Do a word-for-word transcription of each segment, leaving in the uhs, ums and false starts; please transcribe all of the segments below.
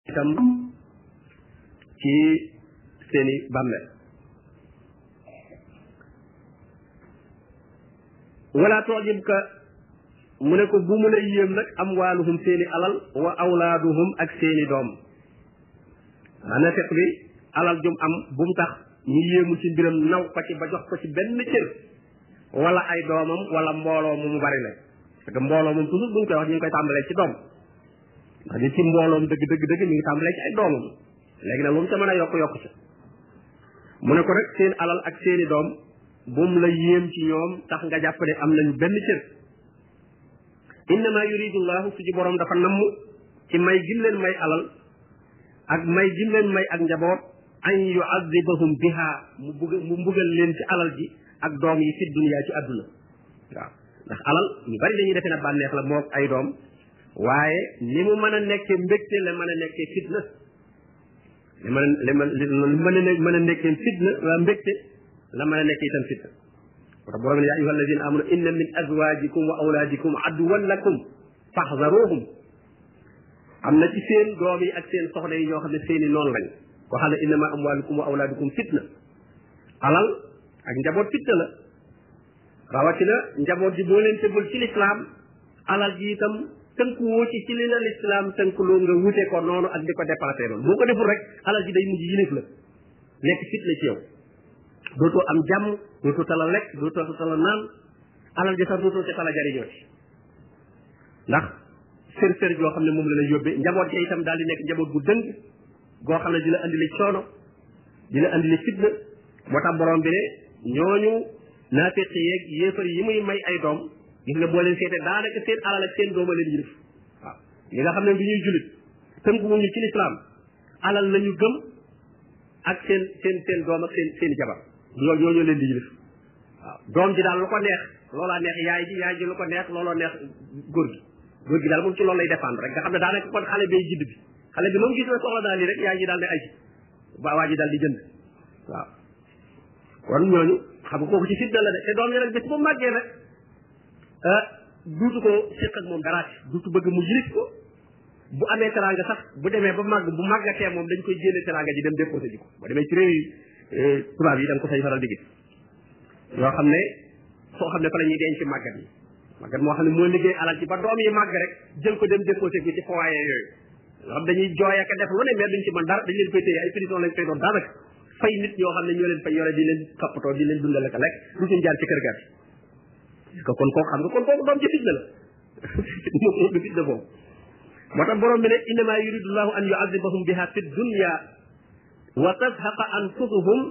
itam ci seeni bàmmeel wala tu'jibka mu ne ko bu mu lay yéem nag amwaaluhum seeni alal wa awlaaduhum ak seeni doom maanaam fekk bi alal jum am bu mu tax ñu yéemu ci mbiram naw ko ci ba jox ko ci benn cër wala ay doomam wala mbooloo mu mu bari la parce que mbooloo moom toujours bu ñu koy wax ñu ngi koy tàmbalee ci doom ndax nit ci mbooloom dëgg dëgg dëgg ñu ngi tàmbalee ci ay doomam léegi nag lu mu ca mën a yokk yokk ci mu ne ko rek seen alal ak seeni doom bu mu la yéem ci ñoom tax nga jàpp ne am nañu benn cër innama yuridu llahu su ci borom dafa namm ci may gim leen may alal ak may gim leen may ak njaboot an yu'adhibahum biha mu bugg mu mbugal leen ci alal ji ak doom yi fi dunya ci àdduna waaw ndax alal ñu bari dañuy defee na bànneex la moog ay doom waaye ni mu mën a nekkee mbégte la mën a nekkee fitna li mën a li mën a mën a nekkee fitna waa mbégte la mën a nekkee itam fitna moo tax borom ne yaa ayyuha alladina amanu inna min azwajikum wa awladikum aduwan lakum faxzaruhum am na ci seen doom yi ak seen soxna yi ñoo xam ne seeni noonu lañ koo xam ne innama amwalukum wa awladukum fitna alal ak njaboot fitna la rawatina njaboot ji boo leen tegul ci lislaam alal ji itam tënku woo ci ci li la lislaam tënku loo nga wute ko noonu ak di ko dépensé noonu boo ko deful rek alal ji day mujj yilif la nekk fitna ci yow dootoo am jàmm dootoo tala lekk dootoo tala naan alal ji sax dootoo ci tala jariñoo ci ndax sër sër yoo xam ne moom la lay yóbbee njaboot ja itam daal di nekk njaboot bu dëng goo xam ne di la andi li coono di la andi li fitna moo tax borom bi ne ñooñu naafiq yeeg yéefar yi muy may ay doom gis nga boo leen seetee daanaka seen alal ak seen dooma leen yilif waaw ñi nga xam ne du ñuy julit tënku wuñu ci lislaam alal lañu gëm ak seen seen seen doom ak seen seen jabar loolu ñooñu leen di yilif waaw doom ji daal lu ko neex loolaa neex yaay ji yaay ji lu ko neex looloo neex góor gi góor gi daal moom ci loolu lay dépendre rek nga xam ne daanaka kon xale bay jidd bi xale bi moom gis na soxla daal lii rek yaay ji daal ne ay ba waa ji daal di jënd waaw kon ñooñu xam nga kooku ci fitna la de te doom yi nag bés bu màggee nag ah duutu ko séq ak moom dara duutu bëgg mu yilif ko bu amee teraanga sax bu demee ba màgg bu màggatee moom dañ koy génne teraanga ji dem déposé ji ko ba demee ci réew yi tubaab yi da nga ko fay faral di gis yoo xam ne foo xam ne fa la ñuy denc màggat yi màggat moo xam ne moo liggéey alal ci ba doom yi màgg rek jël ko dem déposé ko ci foyer yooyu yoo xam dañuy jooy ak def lu ne mais duñ ci mën dara dañ leen koy téye ay prison lañ koy doon daanaka fay nit ñoo xam ne ñoo leen fay yore di leen toppatoo di leen dundal ak lekk du suñ jaar ci kër ga ko kon kooku xam nga kon kooku doom ci fitna la moom du fitna boobu moo tax borom bi ne innama yuridu llahu an yu'adhibahum biha fi dunya wa tazhaqa anfusuhum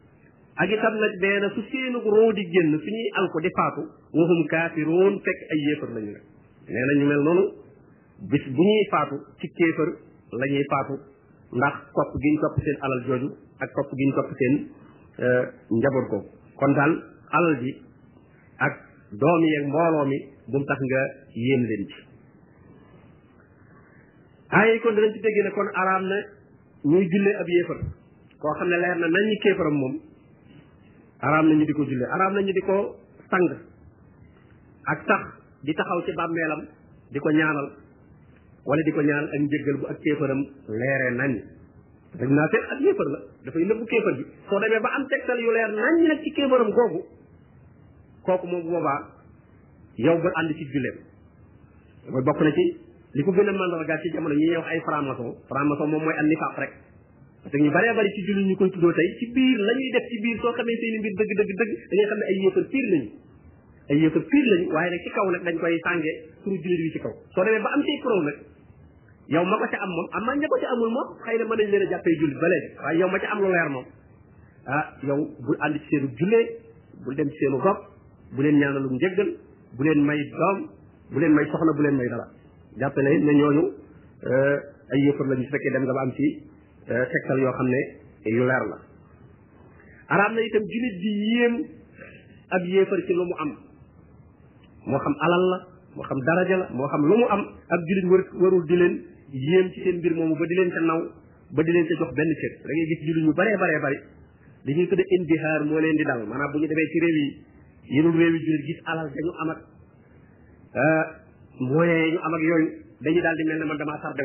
ak itam nag nee na su seenu roo di génn su ñuy alko di faatu wahum kaafiruun fekk ay yéefar lañu rek nee na ñu mel noonu bis bu ñuy faatu ci kéefar la ñuy faatu ndax topp gi ñu topp seen alal jooju ak topp gi ñu topp seen njaboot ko kon daal alal ji ak doom yi ak mbooloo mi bu mu tax nga yéem leen ci ay kon danañ ci déggee ne kon araam na ñuy jullee ab yéefar koo xam ne leer na nañ ñi kéefaram moom araam na ñu di ko jullee araam na ñu di ko sang ak sax di taxaw ci bàmmeelam di ko ñaanal wala di ko ñaanal ak njëggal bu ak kéefaram leeree nañ dañ naa seet ak yéefar la dafay nëbbu kéefar bi soo demee ba am tegtal yu leer nañ nag ci kéefaram googu kooku moom boobaa yow ba ànd ci julleem mooy bokk na ci li ko gën a mandargaal ci jamono ñi ñuy wax ay franc-maçon franc-maçon moom mooy am nifaaq rek parce que ñu bëree bëri ci julli ñu koy tuddoo tey ci biir la ñuy def ci biir soo xamee seeni mbir dëgg dëgg dëgg da ngay xam ne ay yéefar pire lañu ay yéefar pire lañu waaye nag ci kaw nag dañ koy sànge pour jullit bi ci kaw soo demee ba am ci pro nag yow ma ko ca am moom am ma ña ko ca amul moom xëy na mën nañ leen a jàppee jullit ba léegi waaye yow ma ca am lu leer moom ah yow bul ànd ci seenu jullee bul dem ci seenu gopp bu leen ñaanalum njëggal bu leen may doom bu leen may soxna bu leen may dara jàppe ne ne ñooñu ay yëfar lañu su fekkee dem nga ba am ci tegtal yoo xam ne yu leer la araam na itam jullit di yéem ab yéefar ci lu mu am moo xam alal la moo xam daraja la moo xam lu mu am ab jullit war warul di leen yéem ci seen mbir moomu ba di leen ca naw ba di leen ca jox benn cër da ngay gis jullit ñu baree baree bari li ñuy tudde indihaar moo leen di dal maanaam bu ñu demee ci réew yi yenul réew yi jullit gis alal dañu am ak moyens ñu am ak yooyu dañuy daal di mel ne man damaa tardé woon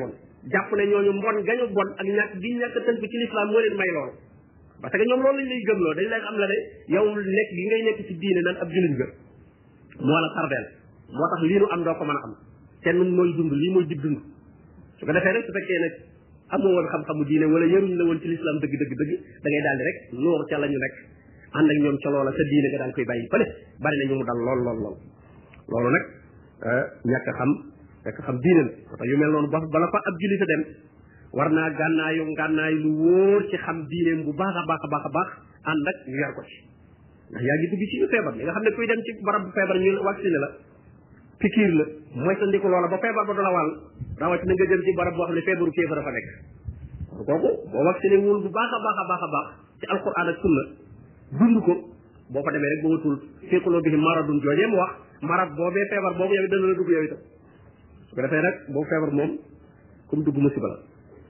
jàpp ne ñooñu mbon gañu bon ak ñàkk gi ñàkk tënk ci l'islam moo leen may loolu parce que ñoom loolu lañ lay gëmloo dañ lay xam la ne yow nekk gi ngay nekk ci diine nan ab jullit nga moo la tardeel moo tax lii nu am doo ko mën a am te nun mooy dund lii mooy jib dund su ko defee nag su fekkee nag amoo woon xam-xamu diine wala yaruñ la woon ci l'islam dëgg dëgg dëgg da ngay daal di rek noor ca la ñu nekk ànd ak ñoom ca loola sa diine nga daal koy bàyyi fële bari na ñu mu dal lool lool lool loolu nag ñàkk xam ñàkk xam diine la moo tax yu mel noonu ba bala fa ab jullit a dem war naa gànnaayu gànnaay lu wóor ci xam diineem bu baax a baax a baax a baax ànd ak ñu yar ko ci ndax yaa ngi dugg ci ñu feebar li nga xam ne kuy dem ci barab bu feebar ñu vacciné la pikiir la mooy sa ndiku loola ba feebar ba du la wàll rawatina nga jëm ci barab boo xam ne feebaru kéefar a fa nekk kooku boo vacciné wul bu baax a baax a baax a baax ci alquran ak sunna dund ko boo fa demee rek ba watul féeqaloo bi maradun joojee mu wax marad boobee feebar boobu yow dana la dugg yow itam su ko defee nag boobu feebar moom comme dugg musiba la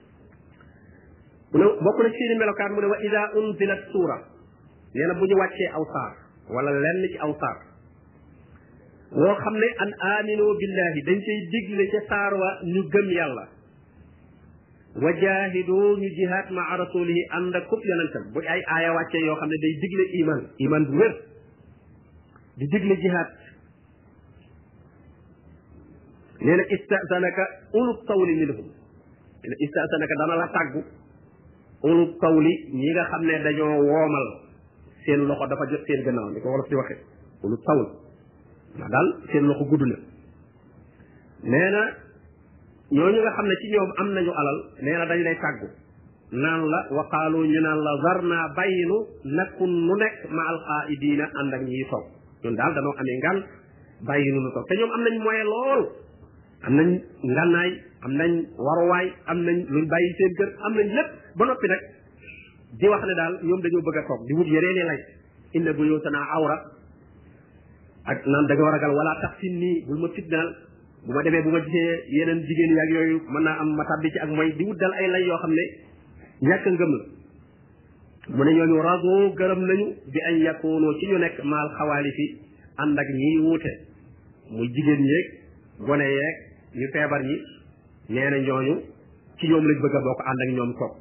mu ne bokk na ci seeni melokaan mu ne wa ida unzilat suura nee na bu ñu wàccee aw saar wala lenn ci aw saar woo xam ne an aminu billahi dañ cay digle ca saar wa ñu gëm yàlla wa jaahidu ñu jihaad maa rasulihi ànd ak kub yonentam bu ay aaya wàccee yoo xam ne day digle iman iman bu wér di digle jihaad nee na istasanaka ulub tawli minhum nee na istasanaka dana la tàggu ulub tawli ñi nga xam ne dañoo woomal seen loxo dafa jot seen gannaaw ni ko wolof di waxe ulub tawl ndax daal seen loxo gudd na nee na ñooñu nga xam ne ci ñoom am nañu alal nee na dañ lay tàggu naan la waqaalu ñu naan la zarna bàyyinu nakun nu nekk ma alqaaidiina ànd ak ñiy toog ñun daal danoo amee ngan bàyyinu nu toog te ñoom am nañ moyen lool am nañ ngannaay am nañ waruwaay am nañ luñ bàyyi seen kër am nañ lépp ba noppi nag di wax ne daal ñoom dañoo bëgg a toog di wut yeneeni lay inna buyuutanaa awra ak naan da nga war a gal wala tax sin nii bul ma fitnaal bu ma demee bu ma gisee yeneen jigéen yaag yooyu mën naa am ma tàbbi ci ak mooy di wut dal ay lay yoo xam ne ñàkk ngëm la mu ne ñooñu rago gërëm nañu bi añ yakunu ci ñu nekk maal xawaalifi ànd ak ñiy wuute muy jigéen ñeeg gone yeeg ñu feebar ñi nee na ñooñu ci ñoom lañ bëgg a bokk ànd ak ñoom toog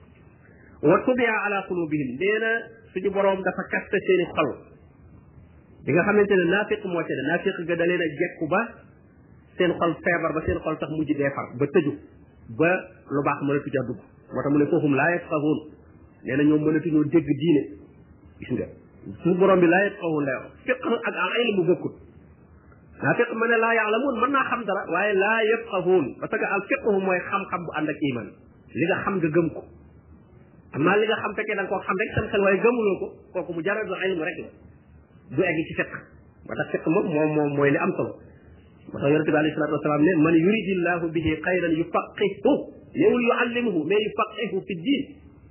wa tubia ala qulubihim nee na suñu boroom dafa kaste seeni xol bi nga xamante ne naafiq moo ci de naafiq ga da leen a jekku ba seen xol feebar ba seen xol sax mujj dee far ba tëju ba lu baax mënatu ca dugg moo tax mu ne foofu laa yafqahuun nee na ñoom mënatuñoo dégg diine gis nga suñu borom bi laa yafqahuun lay wax fiq ak al ilmu bokkut naa fiq ma ne laa yaalamuun mën naa xam dara waaye laa yafqahuun parce que al fiqhu mooy xam-xam bu ànd ak iman li nga xam nga gëm ko amaa li nga xam fekkee da nga koo xam rek sam xel waaye gëmuloo ko kooku mu jaradu ilmu rek la du egg ci fiq moo tax fiq moom moom moom mooy li am solo moo tax yonente bi alayhi salatu wasalaam ne man yuridillahu bihi xayran yufaqihu newul yuallimuhu mais yufaqihu fi diin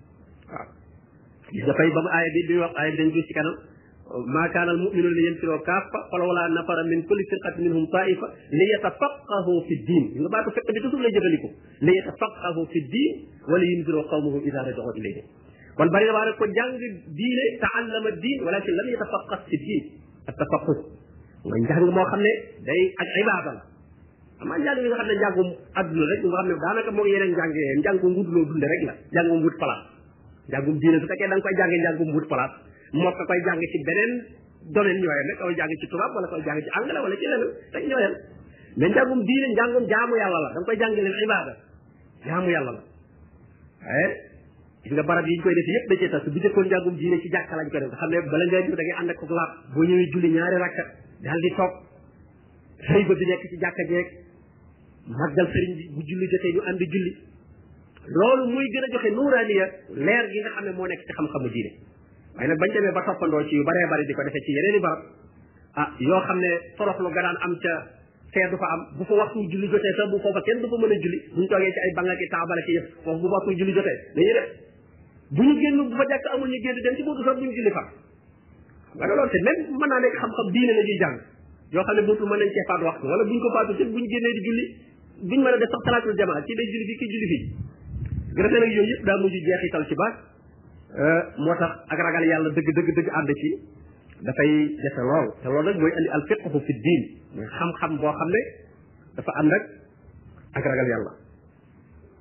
waaw gis nga fay ba mu aaya bi bi wax aaya bi dañ gis ci kanam ma kaana al mu'minuna li yanfiroo kaffa falawla nafara min kulli firqatin minhum taifa li yatafaqahu fi diin nga baatu fiq bi toujours lay jëfandikoo li yatafaqahu fi diin wala yunziroo qawmahum ida raja'u ilayhim kon bari na waa rek ko jàng diine taallama diin walakin lam yatafaqah fi diin at tafaqus nga njàng moo xam ne day ak ibaada la amaa njàng bi nga xam ne njàngum adduna rek nga xam ne daanaka moo yeneen njàng yee njàngum wutuloo dunde rek la njàngum wut place njàngum diine su fekkee da nga koy jàngee njàngum wut place moo ko koy jàng ci beneen domaine ñooyam rek koy jàng ci tubaab wala koy jàng ci anglais wala ci leneen rek ñooyam mais njàngum diine njàngum jaamu yàlla la da nga koy jàng leen ibaada jaamu yàlla la waaye gis nga barab yi ñu koy def yëpp da cee tas bu jëkkoon njàngum diine ci jàkka lañ koy def nga xam ne bala ngay def da ngay ànd ak ko laab boo ñëwee julli ñaari rakka daal di toog xëy ba bi nekk ci jàkka jeeg màggal sëriñ bi bu julli jotee ñu ànd julli loolu muy gën a joxe nuuraaniya leer gi nga xam ne moo nekk ci xam-xamu diine waaye nag bañ demee ba toppandoo ci yu baree bari di ko defee ci yeneen i barab ah yoo xam ne toroxlu ga daan am ca fee du fa am bu fa waxtu julli jotee sax bu foofa kenn du fa mën a julli buñ toogee ci ay banga ki taabala ki yëpp foofu bu waxtu julli jotee dañuy def bu ñu génn bu fa jàkk amul ñu génn dem ci buntu sax bu ñu julli fa nga ne loolu te même mën naa nekk xam-xam diine la ñuy jàng yoo xam ne buntu mën nañ cee faat waxtu wala buñ ko faatu sëf buñ génnee di julli buñ mën a def sax salaatul jamaa ci day julli fii kii julli fii grefee nag yooyu yëpp daa mujj jeexital ci baat moo tax ak ragal yàlla dëgg dëgg dëgg ànd ci dafay jafe lool te loolu nag mooy andi al fiqhu fi diin mooy xam-xam boo xam ne dafa ànd ak ak ragal yàlla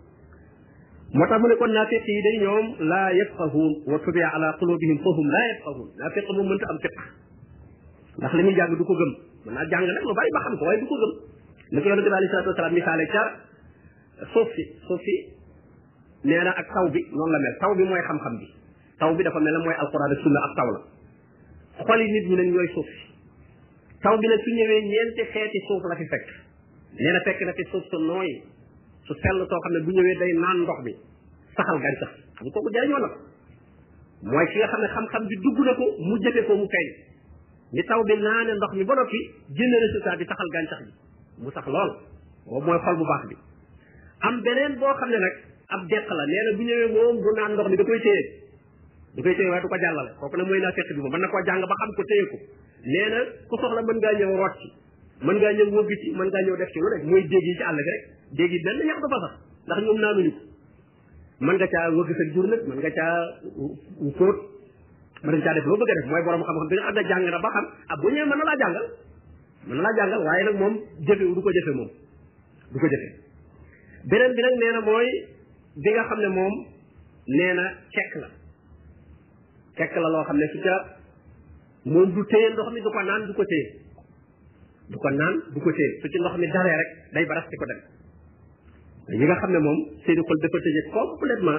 moo tax mu ne kon naafiq yi day ñoom laa yafqahuun wa tubi'a ala qulubihim fahum laa yafqahuun naafiq moom mënta am fiq ndax li muy jàng du ko gëm mën naa jàng nag lu bari ba xam ko waaye du ko gëm ni ko yonente bi alayhi salaatu wasalaam misaale ca suuf si suuf si nee na ak taw bi noonu la mel taw bi mooy xam-xam bi taw bi dafa mel ne mooy alquran ak sunna ak taw la xoli nit ñi nag ñooy suuf si taw bi nag su ñëwee ñeenti xeeti suuf la fi fekk nee na fekk na fi suuf su nooy su sell soo xam ne bu ñëwee day naan ndox mi saxal gàncax xam kooku jariñoo na mooy ki nga xam ne xam-xam bi dugg na ko mu jëfe ko mu feeñ ni taw bi naane ndox mi ba noppi génne résultat bi saxal gàncax bi mu sax lool boobu mooy xol bu baax bi am beneen boo xam ne nag ab deq la nee na bu ñëwee moom du naan ndox mi da koy téye da koy téye waaye du ko jàllale kooku nag mooy naa fekk bi moom mën na koo jàng ba xam ko téye ko nee na ku soxla mën ngaa ñëw root ci mën ngaa ñëw wëgg ci mën ngaa ñëw def ci lu rek mooy déeg yi ci àll bi rek déeg yi benn ñax dafa sax ndax ñoom naanuñu ko mën nga caa wëgg sa jur nag mën nga caa fóot mën nga caa def loo bëgg a def mooy borom xam-xam bi nga xam ne jàng na ba xam ah bu ñëwee mën na laa jàngal mën na laa jàngal waaye nag moom jëfe du ko jëfe moom du ko jëfe beneen bi nag nee na mooy bi nga xam ne moom nee na kekk la kekk la loo xam ne su ca moom du téye ndox mi du ko naan du ko téye du ko naan du ko téye su ci ndox mi daree rek day baras ci ko dem ñi nga xam ne moom seeni xol dafa tëje complètement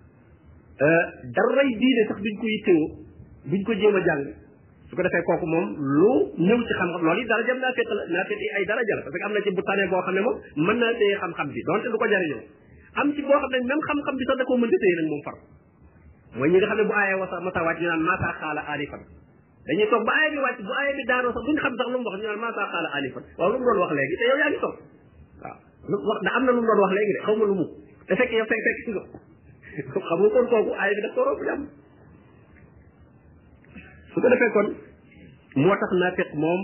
daray diine sax duñ ko yittewoo duñ ko jéem a jàng su ko defee kooku moom lu ñëw ci xam-xam loolu yi dara jëm naa fekk la naa fekk ay dara jël parce que am na ci bu tane boo xam ne moom mën naa téye xam-xam bi donte du ko jariñoo am ci boo xam ne même xam-xam bi sax da koo mënta téye nag moom far mooy ñi nga xam ne bu aayee wasa masa wàcc ñu naan masa xaala alifan dañuy toog ba aaya bi wàcc bu aaya bi daanoo sax duñ xam sax lu mu wax ñu naan masa xaala alifan waaw lu mu doon wax léegi te yow yaa ngi toog waaw lu wax da am na lu mu doon wax léegi de xaw ma lu mu te fekk yow fekk fekk si nga xam nga kon kooku aaya bi daf ko romb jàmm su ko defee kon moo tax naafiq moom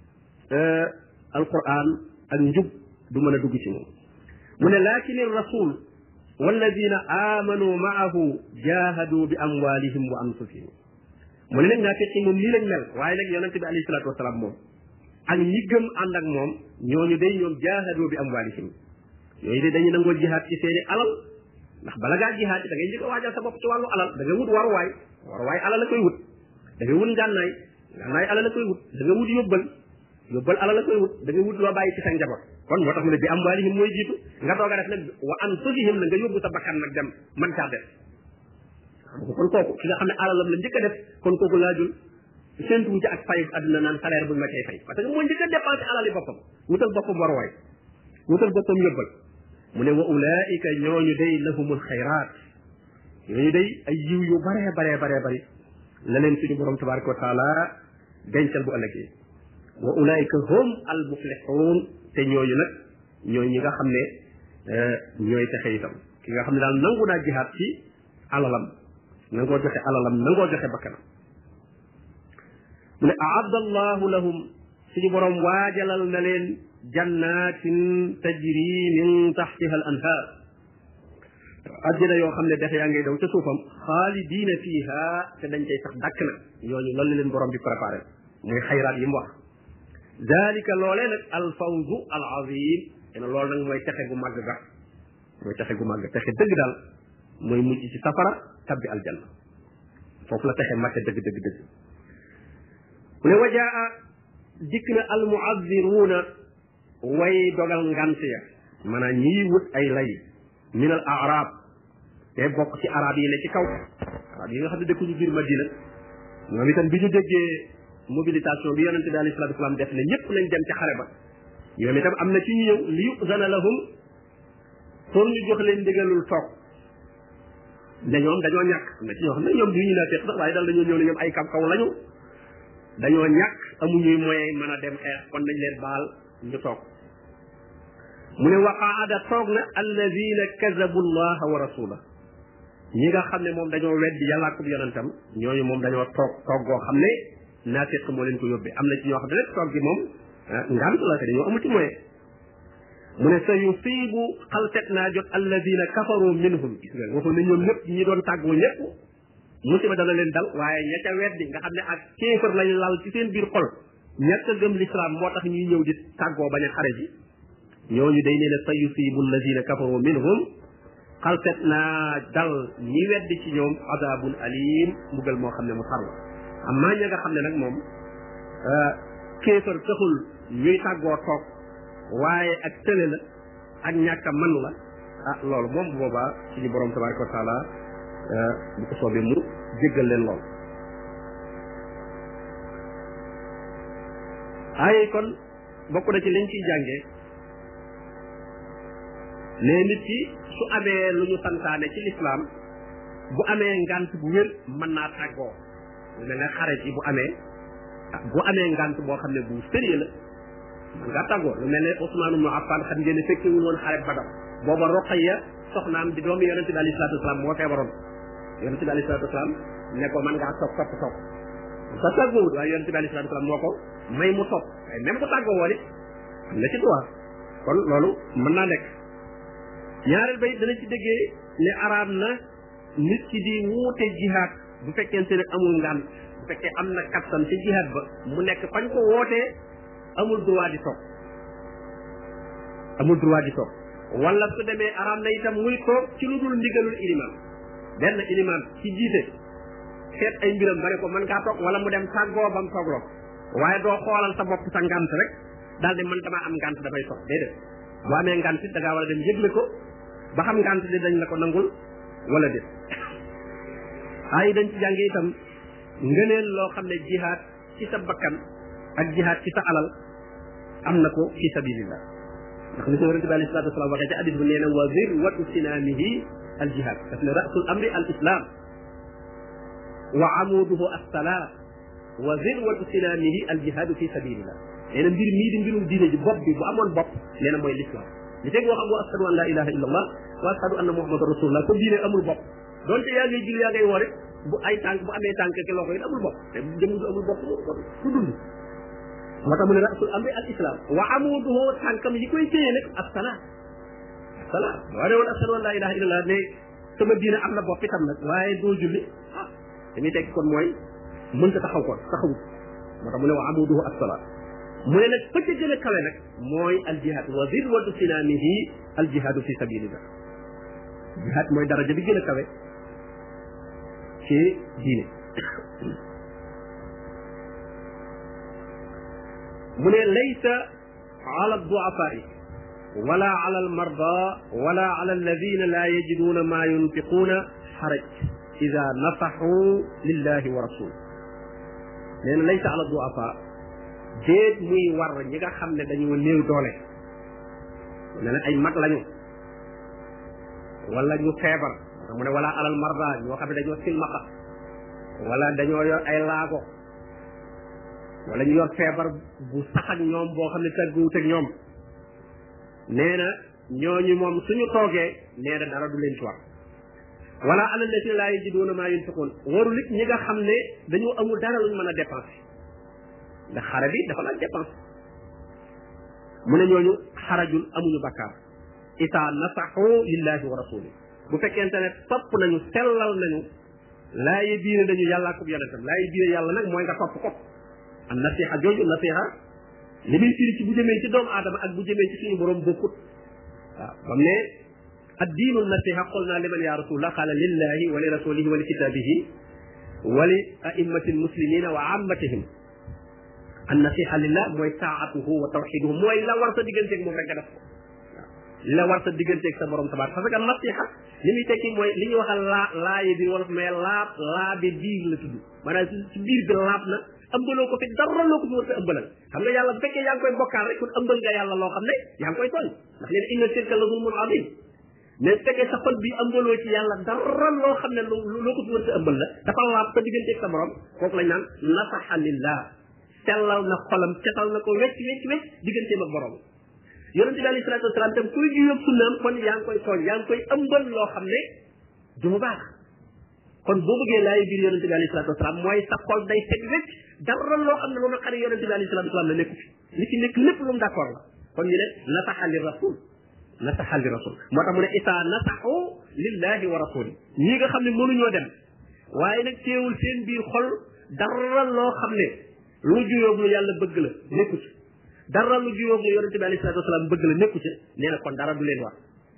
alquran ak njub du mën a dugg ci moom mu ne lakin rasul walladina amanu maahu jahadu bi amwalihim wa anfusihim mu ne nag naafiq yi moom lii lañ mel waaye nag yonente bi alayhi salatu wasalaam moom ak ñi gëm ànd ak moom ñooñu day ñoom jahadu bi amwalihim ñooñu de dañuy nangoo jihaad ci seeni alal ndax bala ngaa jihaad da ngay njëkk a waajal sa bopp ci wàllu alal da ngay wut waruwaay waruwaay alal la koy wut da ngay wut ngànnaay ngànnaay alal la koy wut da nga wut yóbbal yóbbal alal la koy wut da nga wut loo bàyyi ci sa njaboot kon moo tax mu ne bi amwaalihim mooy jiitu nga doog a def nag wa anfusihim na nga yóbbu sa bakkan nag dem man caa def xam nga kon kooku ki nga xam ne alalam la njëkk a def kon kooku laajul séntuwu ci ak fayu àdduna naan salaire buñ ma cay fay parce que mooy njëkk a dépensé alali boppam wutal boppam waruwaay wutal boppam yóbbal mu ne wa ulaika ñooñu day lahumul xayraat ñooñu day ay yiw yu baree baree baree bari la leen suñu borom tabaraka wa taala dencal bu ëllëgee wa ulaika hum al muflixuun te ñooñu nag ñooy ñi nga xam ne ñooy texe itam ki nga xam ne daal nangu naa jihaat ci alalam nangoo joxe alalam nangoo joxe bakkanam mu ne aadda allahu lahum suñu borom waajalal na leen jannatin tajri min taxtiha al anhar àjjana yoo xam ne dex yaa ngay daw ca suufam xaalidiina fiiha te dañ cay sax dàkk nag ñooñu loolu leen borom bi préparé muy xayraat yi mu wax dalika loolee nag al fawzu al azim te ne loolu nag mooy texe gu màgg ga mooy texe gu màgg texe dëgg daal mooy mujj ci safara tabbi aljanna foofu la texe màgg dëgg dëgg dëgg mu ne wajaa dikk na al muazziruuna way dogal ngant ya maanaam ñiy wut ay lay min al arab te bokk ci arab yi ne ci kaw arab yi nga xam ne dëkkuñu biir Madina ñoom itam bi ñu déggee mobilisation bi yonente bi alayhi salatu wasalam def ne ñëpp nañ dem ci xare ba ñoom itam am na ci ñu ñëw li yuzana lahum pour ñu jox leen ndigalul toog ne ñoom dañoo ñàkk am na ci ñoo xam ne ñoom du ñu naa teex sax waaye daal dañoo ñëw ne ñoom ay kam kaw lañu dañoo ñàkk amuñuy moyen mën a dem xeex kon nañ leen baal ñu toog mu ne waqaada toog na alladina kazabu allaha wa rasula ñi nga xam ne moom dañoo weddi yàlla ak yonentam ñooñu moom dañoo toog toog goo xam ne naafiq moo leen ko yóbbee am na ci ñoo xam ne rek toog gi moom ngant la te dañoo amu ci moyen mu ne sa yusibu xaltet naa jot alladina kafaru minhum gis nga waxul ne ñoom ñëpp ñi doon tàggoo ñëpp musiba dana leen dal waaye ña ca weddi nga xam ne ak kéefër lañ lal ci seen biir xol ñàkk a gëm l'islam moo tax ñuy ñëw di tàggoo bañ a xare ji ñooñu day nee ne sa yusibu alladina kafaru minhum xalset naa dal ñi weddi ci ñoom azabun alim mbugal moo xam ne mu tar la amma ña nga xam ne nag moom kéefar taxul ñuy tàggoo toog waaye ak tële la ak ñàkk a man la ah loolu moom bu boobaa suñu borom tabaraka wa taala bu ko soobee mu jéggal leen lool ay kon bokk na ci liñ ciy jàngee ne nit ki su amee lu ñu santaane ci lislaam bu amee ngant bu wér mën naa tàggoo lu mel ne xare ci bu amee bu amee ngant boo xam ne bu sérieux la man ngaa tàggoo lu mel ne Ousmane ibn Affan xam ngeen ne fekkewul woon xare Badar booba Ruqayya soxnaam di doomu yonente bi alayhi salaatu wasalaam moo feebaroon yonente bi alayhi salaatu wasalaam ne ko man ngaa toog topp topp sa tàggoowut waaye yonente bi alayhi salaatu wasalaam moo ko may mu topp waaye même bu tàggoo woon it am na ci droit kon loolu mën naa nekk ñaareel bay dana ci déggee ne araam na nit ki di wuute jihaad bu fekkente ne amul ngaan bu fekkee am na kattan ci jihaad ba mu nekk fañ ko wootee amul droit di toog amul droit di toog wala su demee araam na itam muy toog ci lu dul ndigalul ilimaan benn ilimaan ci jiite seet ay mbiram ba ne ko mën ngaa toog wala mu dem tàggoo ba mu toogloo waaye doo xoolal sa bopp sa ngant rek daal di man damaa am ngant dafay toog déedéet boo amee ngant it da ngaa war a dem yëgle ko ba xam ngant di dañ la ko nangul wala déet ay dañ ci jànge itam ngëneel loo xam ne jihaad ci sa bakkan ak jihaad ci sa alal am na ko fi sabilillah ndax ni ko yonente bi alayhi salatu wasalam waxee ci hadis bu nee na wa zirwatu sinamihi al jihad daf ne rasul amri al islam wa amuduhu as-salat wa zirwatu sinamihi al jihad fi sabilillah nee na mbir mii di mbirum diine ji bopp bi bu amoon bopp nee na mooy l'islam li teg wax wa ashhadu an la ilaha illa allah wa ashhadu anna muhammadan rasulullah ko diine amul bopp donte yaa ngay jil yaa ngay woore bu ay tànk bu amee tànk ki loxo yi amul bopp te jëm du amul bopp su dund moo tax mu ne rasul amri al islam wa amuduhu tànkam yi koy téye nag as-salaat as-salaat boo ne woon ashhadu an la ilaha illa allah ne sama diine am na bopp itam nag waaye doo julli ah dañuy tekki kon mooy mënta taxaw kon taxawut moo tax mu ne wa amuduhu as-salaat mu ne nag fa ca gën a kawe nag mooy al jihad wa zirwatu sinamihi al jihadu fi sabilillah jihad mooy daraja bi gën a kawe ci diine mu ne laysa ala du'afaa'i wala ala al marda wala ala alladina la yajiduna ma yunfiquna xaraj ida nasaxu lillahi wa rasul nee na laysa ala du'afaa déet muy war ñi nga xam ne dañoo néew doole ne na ay mag lañu wala ñu feebar mu ne wala alal marda ñoo xam ne dañoo silmaxa wala dañoo yor ay laago wala ñu yor feebar bu sax ak ñoom boo xam ne tàgguwut ak ñoom nee na ñooñu moom suñu toogee nee na dara du leen ci war wala alal la si laa yajiduuna maa yunfiquun warul it ñi nga xam ne dañoo amul dara luñ mën a dépenser ndax xare bi dafa laaj dépense mu ne ñooñu xarajul amuñu bakkaar ita nasaxu lillahi wa rasuli bu fekkente ne topp nañu sellal nañu laaye biire dañu yàlla ak yonentam laaye biire yàlla nag mooy nga topp ko am nasiha jooju nasiha li muy firi ci bu jëmee ci doomu aadama ak bu jëmee ci suñu borom bokkut waaw bam ne ad diinu nasiha qulna liman ya rasulullah qala lillahi wa li rasulihi wa li kitabihi wa li a'immati almuslimina wa ammatihim an nasiha lillah mooy taatuhu wa tawxiduhu mooy la war sa digganteeg moom rek nga def ko li la war sa digganteeg sa borom tabaar parce que nasiha li muy tekki mooy li ñuy waxal laa laaye bi wala mais laab laabe biir la tudd maanaam ci biir bi laab na ëmbaloo ko fi dara loo ko fi war sa ëmbalal xam nga yàlla bu fekkee yaa ngi koy bokkaal rek kon ëmbal nga yàlla loo xam ne yaa ngi koy tooñ ndax leen inna shirka la zulmun azim mais su fekkee sa xol bi ëmbaloo ci yàlla dara loo xam ne loo ko fi war sa ëmbal la dafa laab sa digganteeg sa borom kooku lañ naan nasaha lillah sellal na xolam setal na ko wecc wecc wecc digganteem ak borom yonente bi alayhi salaatu wasalaam tam kuy ju yëpp sunnaam kon yaa ngi koy tooñ yaa ngi koy ëmbal loo xam ne du mu baax kon boo bëggee laay biir yonente bi alayhi salaatu wasalaam mooy sa xol day set wecc dara loo xam ne lu na xari yonente bi alayhi salaatu wasalaam la nekku fi li ci nekk lépp lu mu d'accord la kon ñu ne nasaha li rasul nasaha li rasul moo tax mu ne isa nasahu lillahi wa rasuli ñi nga xam ne mënuñoo dem waaye nag teewul seen biir xol dara loo xam ne lu juyóog lu yàlla bëgg la nekku ci dara lu juyóog lu yonente bi alayhi salaatu wasalaam bëgg la nekku ci nee na kon dara du leen war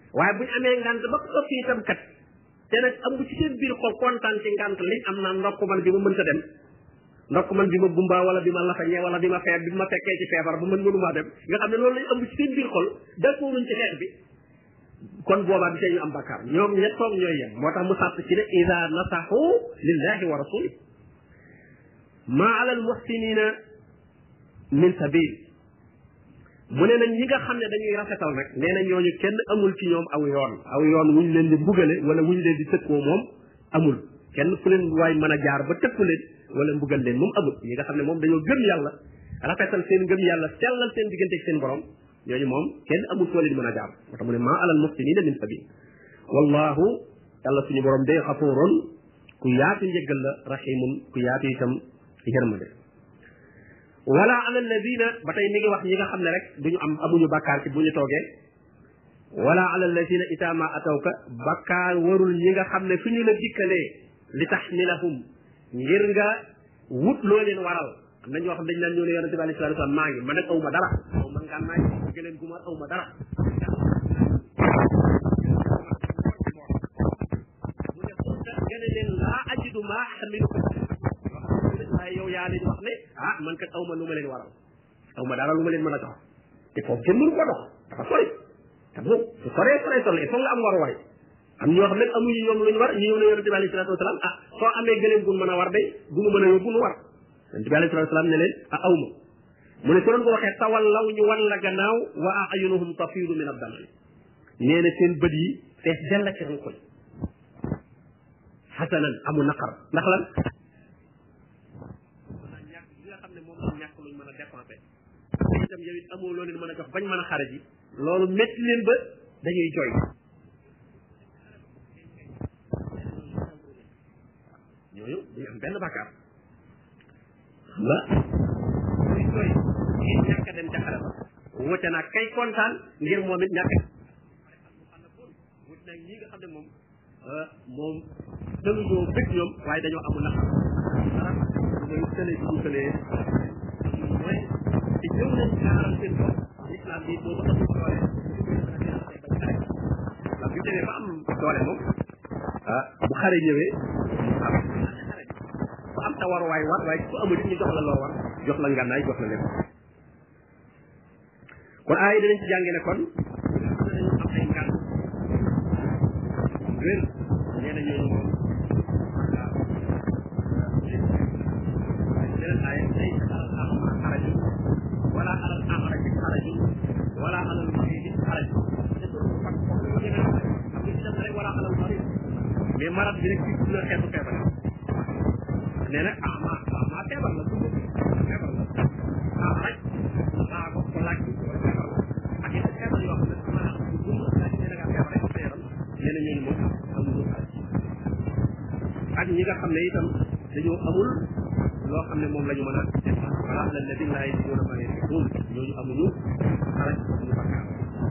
waaye buñ amee ngant ba ko fi itam kat te nag amu ci seen biir xol kontaan ci ngant liñ am naa ndokk man bi ma mënta dem ndokk man bi ma gumba wala bi ma lafañee wala bi ma feeb bi ma fekkee ci feebar ba mën mënumaa dem nga xam ne loolu lañ ëmb ci seen biir xol d'accorduñ ci xeex bi kon boobaa bi tey ñu am bakkaar ñoom ñett toog ñooy yem moo tax mu sàtt ci ne ida nasaxu lillahi wa rasuli ma ala al muhsinina min sabil mu ne nag ñi nga xam ne dañuy rafetal nag nee na ñooñu kenn amul ci ñoom aw yoon aw yoon wuñ leen di mbugale wala wuñ leen di tëkkoo moom amul kenn fu leen waay mën a jaar ba tëkku leen wala mbugal leen moom amul ñi nga xam ne moom dañoo gëm yàlla rafetal seen gëm yàlla sellal seen diggante ak seen borom ñooñu moom kenn amul foo leen mën a jaar moo tax mu ne maa alal muhsinina min sabil wallahu yàlla suñu borom day xafuurun ku yaatu njëggal la rahimun ku yaatu itam yërmande wala ala alladina ba tey mi ngi wax ñi nga xam ne rek duñu am amuñu bakkaar ci bu ñu toogee wala ala alladina ita ma atawka bakkaar warul ñi nga xam ne fi ñu la dikkalee li taxmilahum ngir nga wut loo leen waral am na ñoo xam dañ naan ñëw ne yonente bi alayhi salatu wasallam maa ngi man nag aw ma dara aw ma ngaan naaj gëleen gu ma aw ma dara mu ne xulta nga ne leen laa ajidu maa xamiluko waaye yow yaa leen wax ne ah man kat aw ma lu ma leen waral aw ma dara lu ma leen mën a jox te foofu kenn mënu ko dox dafa sori te bu su soree soree soree il faut nga am war waay am ñoo xam ne amuñu ñoom lu ñu war ñu ñëw ne yonente bi alayhi salatu wasalam ah soo amee gëleen gun mën a war day bu nu mën a yóbbu nu war yonente bi alayhi salatu wasalam ne leen ah aw ma mu ne su doon ko waxee tawal law ñu wan la gannaaw wa ayunuhum tafiidu min ad-dam nee na seen bët yi fees dell ci rankoñ xasanan amul naqar ndax lan maanaam ñàkk li nga xam ne moom la ñàkk luñ mën a dépensé itam yow it amoo loo leen mën a jox bañ mën a xare ji loolu métti leen ba dañuy jooy ñooñu duñu am benn bàkkaar xam nga muy jooy ngir ñàkk a dem ca xare ba wute naag kay kontaan ngir moom it ñàkk wut nag ñi nga xam ne moom moom dañuñoo bëgg ñoom waaye dañoo amul naqar dara mooy tële bi ñu tëlee mooy te ñëw nañ gaaral seen bopp islam bi boobu amul doole ndax bu demee ba am doole moom ah bu xare ñëwee am xare bi bu am ta war waay war waaye ku amul ñu jox la loo war jox la ngànnaay jox la lépp kon aay dinañ ci jànge ne kon dañu am ay ngànn wér nee na ñooñu moom waaw leneen aaya day alal ama xaraju wala alal amarati xaraju wala alal maridi xaraju te du fat foofu la ñemee xam nga ci dem rek wala alal marid mais marat bi rek ci na xeetu feebar nee na ama ama feebar la dund feebar la ah rek ah ko ko laaj wala feebar la ak yeneen feebar yoo xam ne maanaam bu dund laaj ne da ngaa feebar rek sa yaram nee na ñooñu moom amuñu xaraj ak ñi nga xam ne itam dañoo amul loo xam ne moom la ñu mën a def wala la ladina laa yajiduuna maa yunfiquun ñooñu amuñu xaraj amuñu bakkaar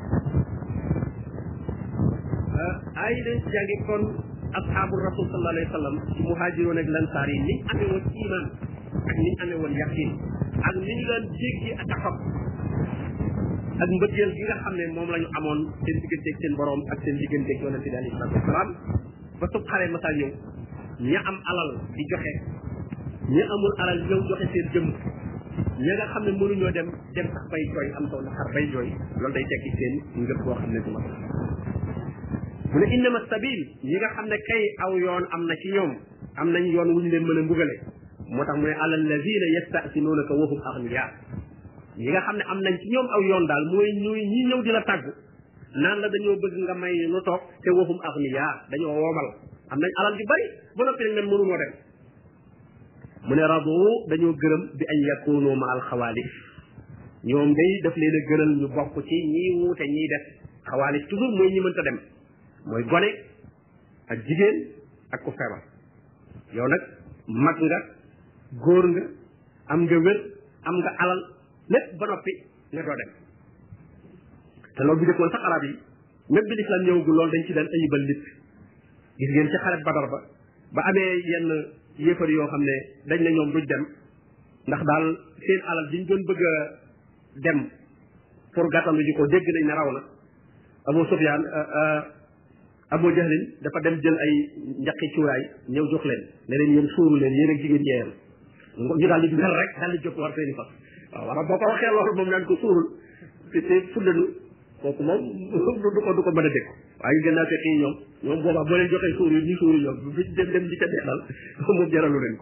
ay dañ ci jàngi kon asxaabu rasul sallallahu alayhi wa sallam ci muhaajiroon ak lansaar yi niñ amee woon iman ak niñ amee woon yaqin ak ni ñu daan jéggi ak taxaw ak mbëggeel gi nga xam ne moom la ñu amoon seen digganteeg seen borom ak seen digganteeg yonente bi alayhi salaatu wasalaam ba sub xare masa ñëw ña am alal di joxe ña amul alal ñëw joxe seen jëmm ña nga xam ne mënuñoo dem dem sax bay jooy am taw naxar bay jooy loolu day tekki seen ngëp boo xam ne du ma mu ne innama sabil ñi nga xam ne kay aw yoon am na ci ñoom am nañ yoon wuñu leen mën a mbugale moo tax mu ne ala alladina yastasinuunaka wa hum agniya ñi nga xam ne am nañ ci ñoom aw yoon daal mooy ñuy ñi ñëw di la tàggu naan la dañoo bëgg nga may nu toog te wa hum agniya dañoo woomal am nañ alal ju bari ba noppi nag nen mënunoo dem mu ne radu dañoo gërëm bi an yakunu ma al xawaalif ñoom day daf leen a gënal ñu bokk ci ñii wuute ñiy def xawaalif toujours mooy ñi mënta dem mooy gone ak jigéen ak ku feebar yow nag mag nga góor nga am nga wér am nga alal lépp ba noppi nga doo dem te loolu bu jëkkoon sax arab yi même bi l'islam ñëwagul loolu dañ ci daan ayibal nit gis ngeen ci xaret badar ba ba amee yenn yéefar yoo xam ne dañ ne ñoom duñ dem ndax daal seen alal diñ doon bëgg a dem pour gàttandu ji ko dégg nañ ne raw na Abu Sufyaan Abu Jahlin dafa dem jël ay njaqi cuuraay ñëw jox leen ne leen yéen suuru leen yéen ak jigéen ñeeyam ñu daal di mel rek daal di jóg war seeni fas waaw wala boo ko waxee loolu moom naan ko suurul te te fuddanu kooku moom du ko du ko mën a dégg waaye gën naa fekk yi ñoom ñoom boobaa boo leen joxee suur yi ñu suuru ñoom bu dem dem di ca deexal moom jaralu leen ko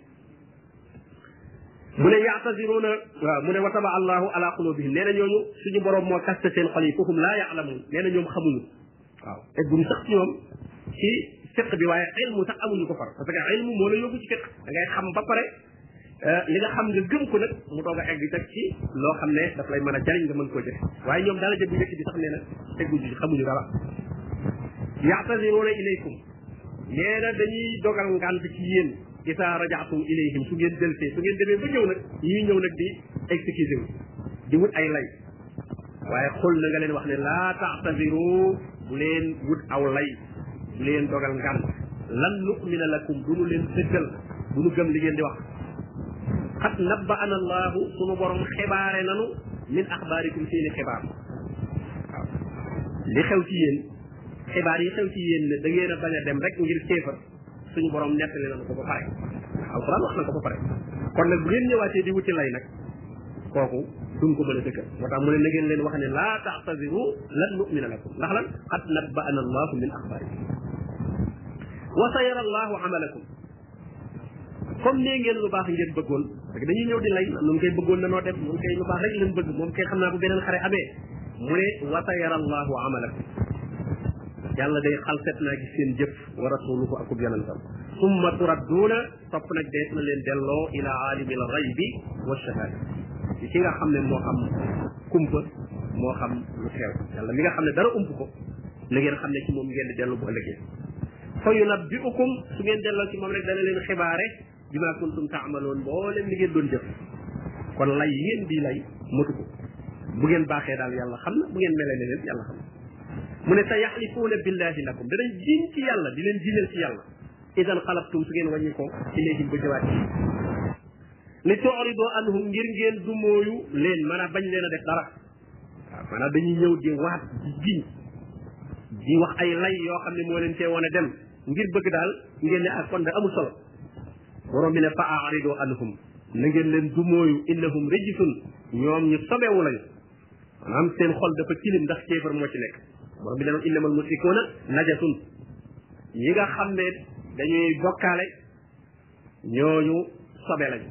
mu ne yaataziruna waaw mu ne wa taba allahu ala qulubihim nee na ñooñu suñu borom moo kaste seen xol yi foofu laa yaalamuun nee na ñoom xamuñu waaw egguñ sax ci ñoom ci fiq bi waaye ilmu sax amuñu ko far parce que ilmu moo la yóbbu ci fiq da ngay xam ba pare li nga xam nga gëm ko nag mu doog a egg teg ci loo xam ne daf lay mën a jariñ nga mën koo jëf waaye ñoom daala jëb bu njëkk bi sax nee na egguñu ci xamuñu dara yaataziruna ilaykum nee na dañuy dogal ngant ci yéen isa rajaatum ilayhim su ngeen deltee su ngeen demee ba ñëw nag ñuy ñëw nag di excusé wu di wut ay lay waaye xul na nga leen wax ne laa taxtadiru bu leen wut aw lay bu leen dogal ngant lan nu'mina lakum du nu leen dëggal du nu gëm li ngeen di wax xat nabbaana allahu sunu borom xibaare nanu min axbaarikum seeni xibaar waaw li xew ci yéen xibaar yi xew ci yéen ne da ngeen a bañ a dem rek ngir kéefar suñu borom nettali nañu ko ba pare alquran wax na ko ba pare kon nag bu ngeen ñëwaatee di wuti lay nag kooku duñ ko mën a dëggal moo tax mu ne na ngeen leen wax ne laa taxtadiru lan nu'mina lakum ndax lan qad nabba'ana allahu min axbaarikum wa sayara allahu amalakum comme nee ngeen lu baax ngeen bëggoon parce que dañuy ñëw di lay nun koy bëggoon na noo dem nun koy lu baax rek leen bëgg moom kay xam naa bu beneen xare amee mu ne wa sayara allahu amalakum yàlla day xalset naa gis seen jëf wa rasuluhu akub yonentam summa turadduuna topp nag dees na leen delloo ila aalimil ghaybi wa shahada ci ki nga xam ne moo xam kumpa moo xam lu xew yàlla mi nga xam ne dara ump ko na ngeen xam ne ci moom ngeen di dellu bu ëllëgee fa yunabbi'ukum su ngeen delloo ci moom rek dana leen xibaare bima kuntum taamaloon mboolem li ngeen doon jëf kon lay yéen di lay matu ko bu ngeen baaxee daal yàlla xam na bu ngeen melee ne leen yàlla xam na mu ne sa yaxlifuuna billahi lakum danañ jiñ ci yàlla di leen jiñal ci yàlla idan xalabtum su ngeen wàññi ko ilayhim ba jëwaat ci li tu'ridu anhum ngir ngeen du mooyu leen maanaam bañ leen a def dara waaw maanaam dañuy ñëw di waat di jiñ di wax ay lay yoo xam ne moo leen cee woon a dem ngir bëgg daal ngeen ne ak kon da amul solo borom bi ne fa a'ridu anhum na ngeen leen du mooyu innahum rijsun ñoom ñu sobewu lañu maanaam seen xol dafa tilim ndax kéefar moo ci nekk borom bi ne noon innamal musrikuuna najasun ñi nga xam ne dañuy bokkaale ñooñu sobe lañu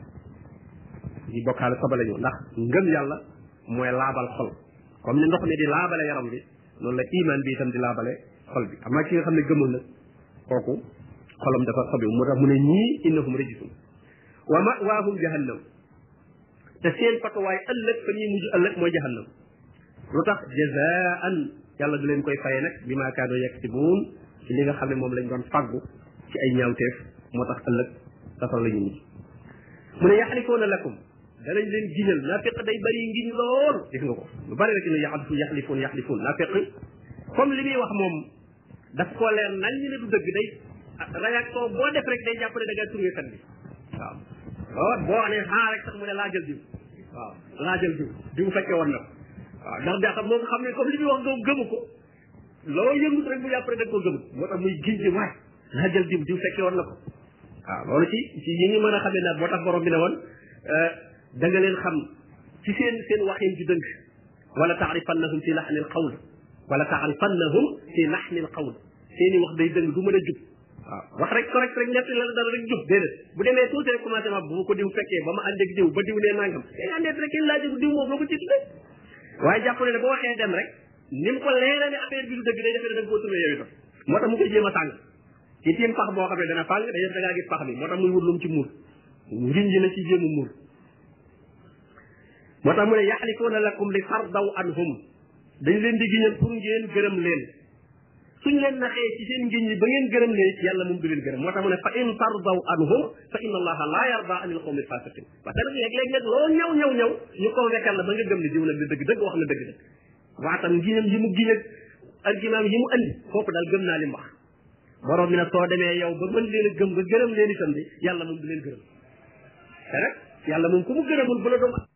ñi bokkaale sobe lañu ndax ngëm yàlla mooy laabal xol comme ni ndox mi di laabale yaram bi noonu la iman bi itam di laabale xol bi am na ki nga xam ne gëmul nag kooku xolam dafa sobe moo tax mu ne ñii innahum rijsun wa ma'waahum jahannam te seen patuwaay ëllëg fa ñuy mujj ëllëg mooy jahannam lu tax jazaan yàlla du leen koy faye nag bi maa kaanu yaksibuun ci li nga xam ne moom lañ doon faggu ci ay ñaawteef moo tax ëllëg safara la ñu mujj mu ne yaxlifuuna lakum danañ leen giñal naafiq day bëri ngiñ lool gis nga ko lu bëri rek ne yaxlifu yaxlifuun yaxlifuun naafiq comme li muy wax moom daf koo leer nañ ñu ne du dëgg day réaction boo def rek day jàpp ne da ngaa tourné kat bi waaw boo boo ne xaa rek sax mu ne laajal diw waaw laajal diw diw fekkee woon na waaw ndax daa xam moom xam ne comme li muy wax nga gëmu ko loo yëngut rek mu jàpp rek da nga koo gëmut moo tax muy giñ ci waay laajal diw diw fekkee woon na ko waaw loolu ci ci yi ñu mën a xamee nag moo tax borom bi ne woon da nga leen xam ci seen seen waxin ci dënk wala taarifannahum fi laxnil qawl wala taarifannahum fi laxnil qawl seeni wax day dëng du mën a jub waaw wax rek correct rek ñett la dara rek jub déedéet bu demee tuuti rek commencé ma bu ko diw fekkee ba ma ànd ak diw ba diw nee nangam day àndeet rek kenn laaj diw moom loo ko ci tuddee waaye jàpp ne ne boo waxee dem rek ni mu ko leeree ne affaire bi du dëgg day defee ne da nga koo tourné yow itam moo tax mu koy jéem a tàng ci tiim pax boo xam ne dana fàng day def da ngaa gis pax bi moo tax muy wut lu mu ci muur ngiñ ji na ci jéem a muur moo tax mu ne yaxlifuuna lakum li tardaw anhum dañ leen di giñal pour ngeen gërëm leen suñ leen naxee ci seen ngiñ ñi ba ngeen gërëm leen yàlla moom du leen gërëm moo tax mu ne fa in tardaw anhum fa inna allaha la yarda anil qawmi fasiqin parce que nag léeg-léeg nag loo ñëw ñëw ñëw ñu convaincre la ba nga gëm ne diw nag di dëgg dëgg wax na dëgg dëgg waatam ngiñam yi mu giñ ak argument yi mu andi kooku daal gëm naa li mu wax borom bi nag soo demee yow ba mën leen a gëm nga gërëm leen itam bi yàlla moom du leen gërëm te nag yàlla moom ku mu gërëmul bu la doom